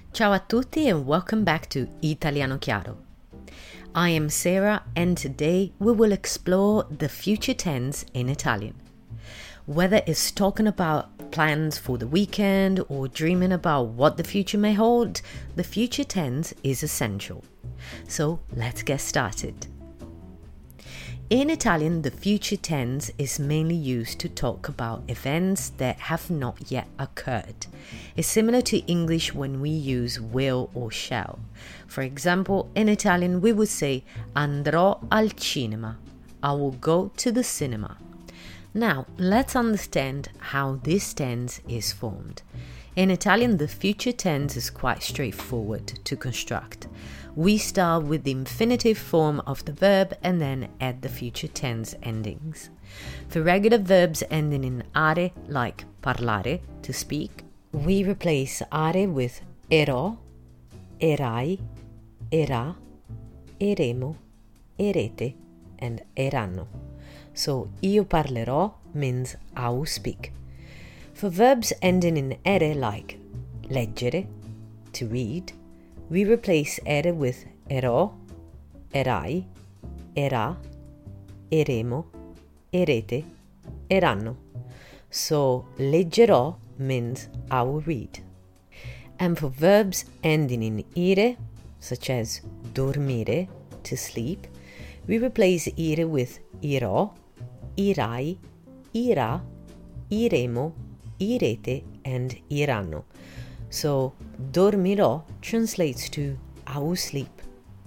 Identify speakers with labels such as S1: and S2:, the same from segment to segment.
S1: Ciao a tutti and welcome back to Italiano Chiaro. I am Sarah and today we will explore the future tense in Italian. Whether it's talking about plans for the weekend or dreaming about what the future may hold, the future tense is essential. So let's get started. In Italian, the future tense is mainly used to talk about events that have not yet occurred. It's similar to English when we use will or shall. For example, in Italian, we would say andrò al cinema. I will go to the cinema. Now, let's understand how this tense is formed. In Italian, the future tense is quite straightforward to construct. We start with the infinitive form of the verb and then add the future tense endings. For regular verbs ending in are, like parlare, to speak, we replace are with ero, erai, era, eremo, erete, and eranno. So, io parlerò means I will speak. For verbs ending in ere, like leggere, to read, we replace ere with ero, erai, era, eremo, erete, eranno. So, leggerò means I will read. And for verbs ending in ire, such as dormire, to sleep, we replace ire with irò, irai, ira, iremo, irete, and iranno. So, dormirò translates to I will sleep.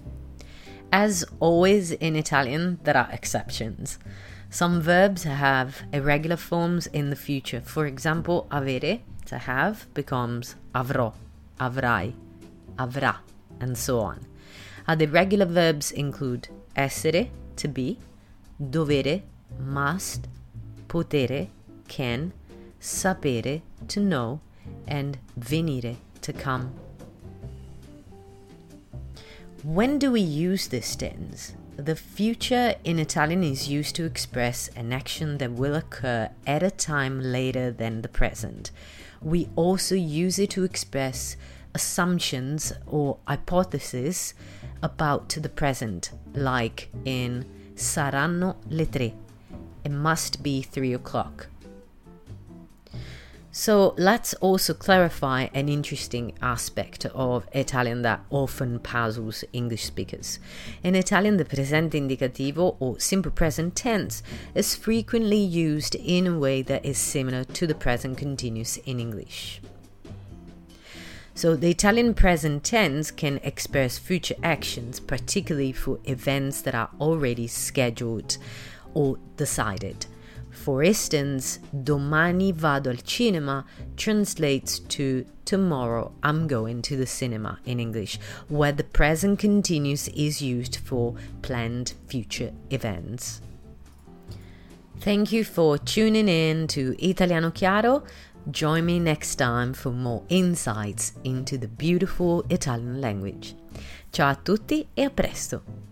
S1: As always in Italian, there are exceptions. Some verbs have irregular forms in the future. For example, avere, to have, becomes avrò, avrai, avrà, and so on. Other irregular verbs include essere, to be, dovere, must, potere, can, sapere, to know, and venire, to come. When do we use this tense? The future in Italian is used to express an action that will occur at a time later than the present. We also use it to express assumptions or hypotheses about the present, like in saranno le 3. It must be 3 o'clock. So let's also clarify an interesting aspect of Italian that often puzzles English speakers. In Italian, the presente indicativo or simple present tense is frequently used in a way that is similar to the present continuous in English. So the Italian present tense can express future actions, particularly for events that are already scheduled or decided. For instance, domani vado al cinema translates to tomorrow I'm going to the cinema in English, where the present continuous is used for planned future events. Thank you for tuning in to Italiano Chiaro. Join me next time for more insights into the beautiful Italian language. Ciao a tutti e a presto!